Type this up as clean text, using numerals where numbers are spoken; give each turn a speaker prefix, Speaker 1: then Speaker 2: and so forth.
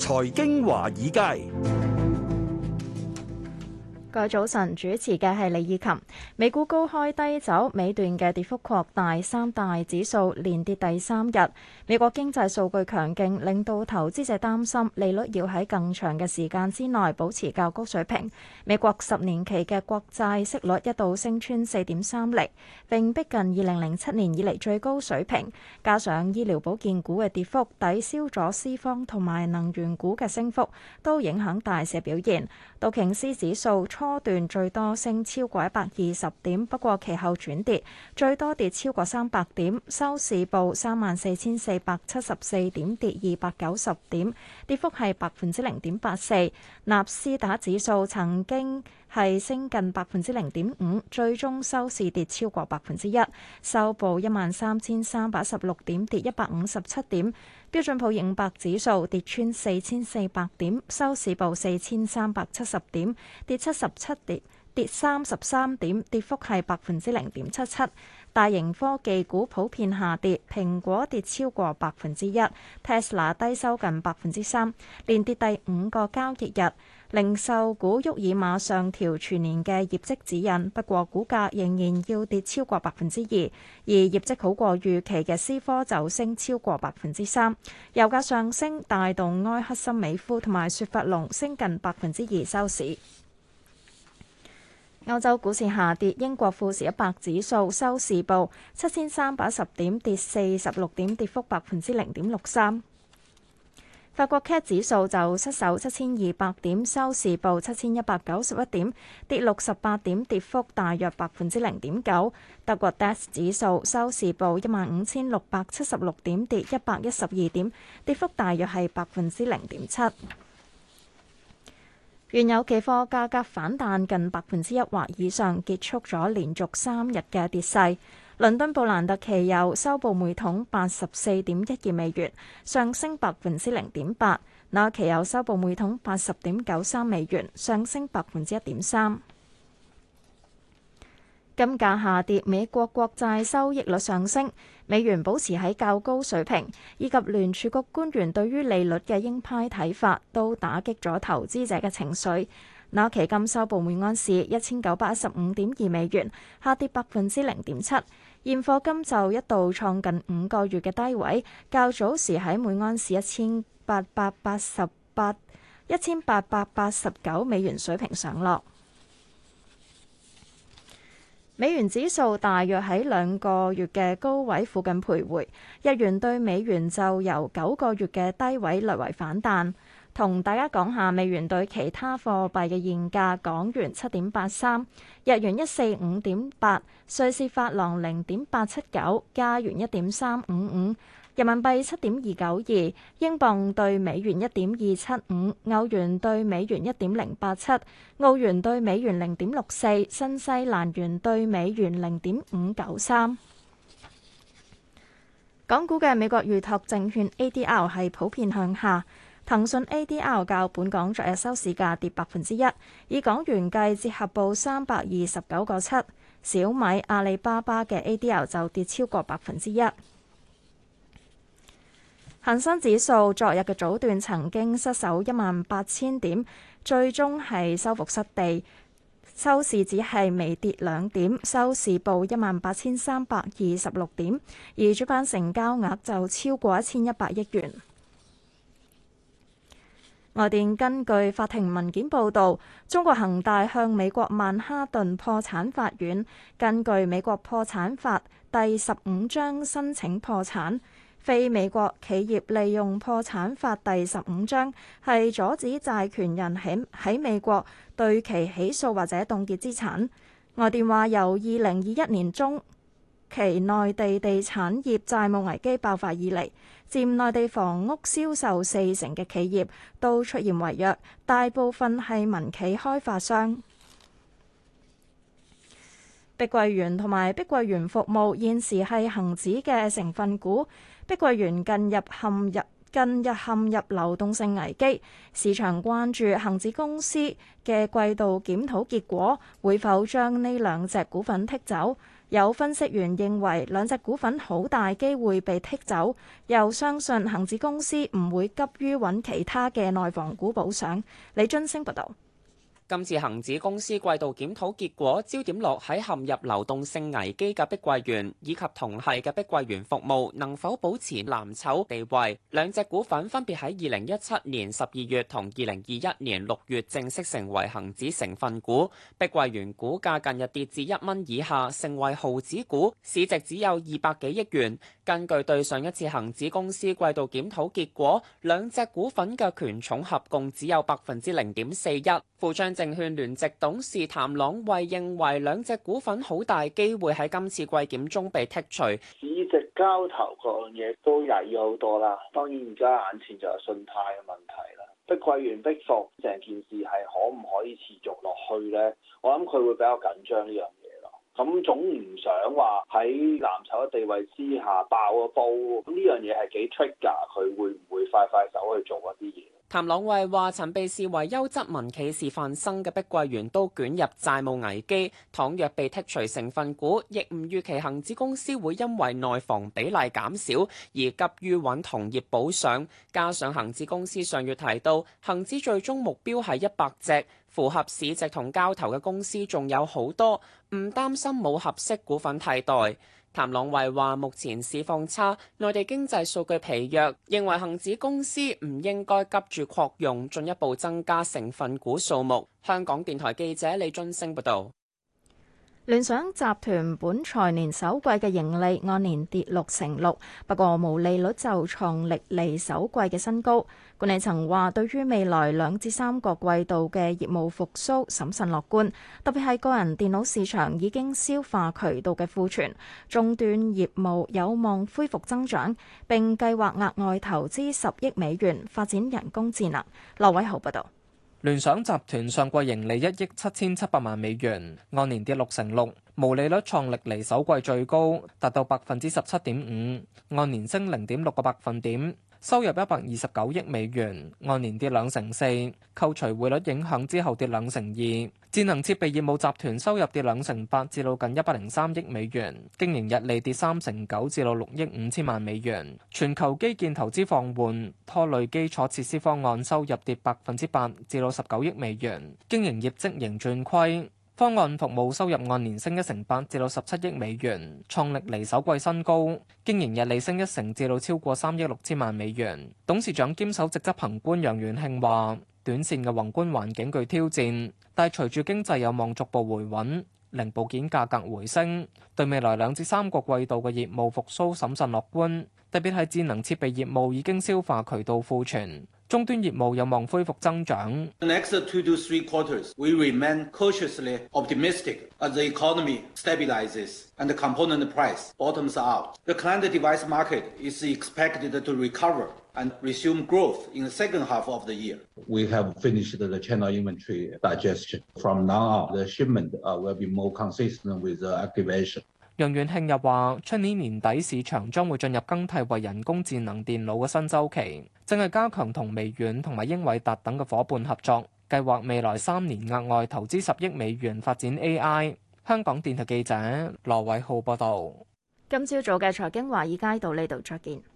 Speaker 1: 財經華爾街。
Speaker 2: 各位早晨，主持嘅係李以琴。美股高開低走，尾段嘅跌幅擴大，三大指數連跌第三日。美國經濟數據強勁，令到投資者擔心利率要喺更長嘅時間之內保持較高水平。美國10年期嘅國債息率一度升穿4.3厘，並逼近2007年以嚟最高水平。加上醫療保健股嘅跌幅抵消咗資方同埋能源股嘅升幅，都影響大市表現。道瓊斯指數初段最多升超過120點，不過其後轉跌，最多跌超過300點，收市報34,474點，跌290點，跌幅係0.84%。納斯達克指數曾經係升近0.5%，最終收市跌超過1%，收報13,316點，跌157點。標準普爾500指數跌穿4,400點，收市報4,370點，跌77點，跌33點，跌幅係0.77%。大型科技股普遍下跌，蘋果跌超過1%， Tesla 低收近3%，連跌第5個交易日。零售股沃爾瑪上調全年嘅業績指引，不過股價仍然要跌超過2%，而業績好過預期嘅思科就升超過3%。油價上升帶動埃克森美孚同埋雪佛龍升近2%收市。歐洲股市下跌，英國富時100指數收市報7310點，跌46點，跌幅0.63%。法國 CAC 指數就失守7200點，收市報7191點，跌68點，跌幅大約0.9%。德國 DAX 指數收市報15676點，跌112點，跌幅大約係0.7%。原油期貨價格反彈近1%或以上，結束咗連續3日嘅跌勢。倫敦布蘭特期油收報每桶84.12美元，上升0.8%。紐約期油收報每桶80.93美元，上升1.3%。金價下跌，美國國債收益率上升，美元保持喺較高水平，以及聯儲局官員對於利率嘅鷹派睇法，都打擊咗投資者嘅情緒。紐期金收報每安士1915.2美元，下跌0.7%。現貨金就一度創近5個月嘅低位，較早時喺每安士1889美元水平上落。美元指數大約喺2個月嘅高位附近徘徊，日元對美元就由9個月嘅低位略為反彈。同大家講下美元對其他貨幣嘅現價：港元7.83，日元145.8，瑞士法郎0.879，加元1.355，人民幣7.292，英鎊對美元1.275，歐元對美元1.087，澳元對美元0.64，新西蘭元對美元0.593。港股嘅美國預託證券 ADR 係普遍向下。騰訊 ADR 較本港昨日收市價跌1%，以港元計折合報329.7。小米、阿里巴巴嘅 ADR 就跌超過1%。恒生指數昨日嘅早段曾經失守18000點，最終係收復失地，收市只係微跌2點，收市報18326點，而主板成交額就超過1100億元。外電根據法庭文件報導，中國恒大向美國曼哈頓破產法院根據美國破產法第15章申請破產。非美國企業利用破產法第15章係阻止債權人喺美國對其起訴或者凍結資產。外電話由2021年中期內地地產業債務危機爆發以嚟，佔內地房屋銷售40%嘅企業都出現違約，大部分係民企開發商。碧桂園同埋碧桂園服務現時係恒指嘅成分股，碧桂園近日陷入流動性危機，市場關注恒指公司嘅季度檢討結果會否將呢兩隻股份剔走。 有分析員認為兩隻股份好大機會被剔走，又相信恒指公司唔會急於揾其他嘅內房股補上。李津升報道。
Speaker 3: 今次恒指公司季度檢討結果焦點落喺陷入流動性危機嘅碧桂園以及同系嘅碧桂園服務能否保持藍籌地位。兩隻股份分別喺2017年12月同2021年6月正式成為恒指成分股。碧桂園股價近日跌至1蚊以下，成為毫子股，市值只有200幾億元。根據對上一次恒指公司季度檢討結果，兩隻股份嘅權重合共只有0.41%。富昌證券聯席董事譚朗慧認為兩隻股份好大機會喺今次季檢中被剔除，
Speaker 4: 市值交投各樣嘢都曳咗好多啦。當然而家眼前就係信貸嘅問題啦。碧桂園逼服成件事係可唔可以持續落去呢？我諗佢會比較緊張呢樣嘢咯。咁總唔想話喺藍籌嘅地位之下爆個煲，咁呢樣嘢係幾 trigger，佢會唔會快手去做一啲嘢？
Speaker 3: 譚朗慧話：曾被視為優質民企示範生嘅碧桂園都捲入債務危機，倘若被剔除成分股，亦唔預期恒指公司會因為內房比例減少而急於揾同業補上。加上恒指公司上月提到，恒指最終目標係100隻，符合市值同交投嘅公司仲有好多，唔擔心冇合適股份替代。譚朗慧話：目前市況差，內地經濟數據疲弱，認為恒指公司唔應該急住擴容，進一步增加成分股數目。香港電台記者李津升報導。
Speaker 2: 聯想集團本財年首季嘅盈利按年跌6%，不過毛利率就創歷嚟首季嘅新高。管理層話，對於未來2至3個季度嘅業務復甦審慎樂觀，特別係個人電腦市場已經消化渠道嘅庫存，終端業務有望恢復增長，並計劃額外投資10億美元發展人工智能。羅偉豪報導。
Speaker 5: 聯想集團上季盈利1億7700萬美元，按年跌6%，毛利率創歷嚟首季最高，達到17.5%，按年升0.6個百分點。收入129億美元，按年跌2%，扣除匯率影響之後跌2%。智能設備業務集團收入跌2%，至到近103億美元，經營溢利跌3%，至到6億5千萬美元。全球基建投資放緩，拖累基礎設施方案收入跌8%，至到19億美元，經營業績仍轉虧。方案服務收入按年升1%，至到17億美元，創歷嚟首季新高。經營溢利升1%，至到超過3億6千萬美元。董事長兼首席執行官楊元慶話：短線嘅宏觀環境具挑戰，但係隨住經濟有望逐步回穩，零部件價格回升，對未來2至3個季度嘅業務復甦審慎樂觀。特別係智能設備業務已經消化渠道庫存，終端業務有望恢復增長。
Speaker 6: The next 2 to 3 quarters, we remain cautiously optimistic as the economy stabilizes and the component price bottoms out. The client device market is expected to recover and resume growth in the second half of the year.
Speaker 7: We have finished the channel inventory digestion. From now on, the shipment will be more consistent with the activation.
Speaker 5: 楊元慶又話：出年年底市場將會進入更替為人工智能電腦嘅新週期，正係加強同微軟同埋英偉達等嘅伙伴合作，計劃未來3年額外投資10億美元發展 AI。香港電台記者羅偉浩報道。
Speaker 2: 今朝早嘅財經華爾街到呢度再見。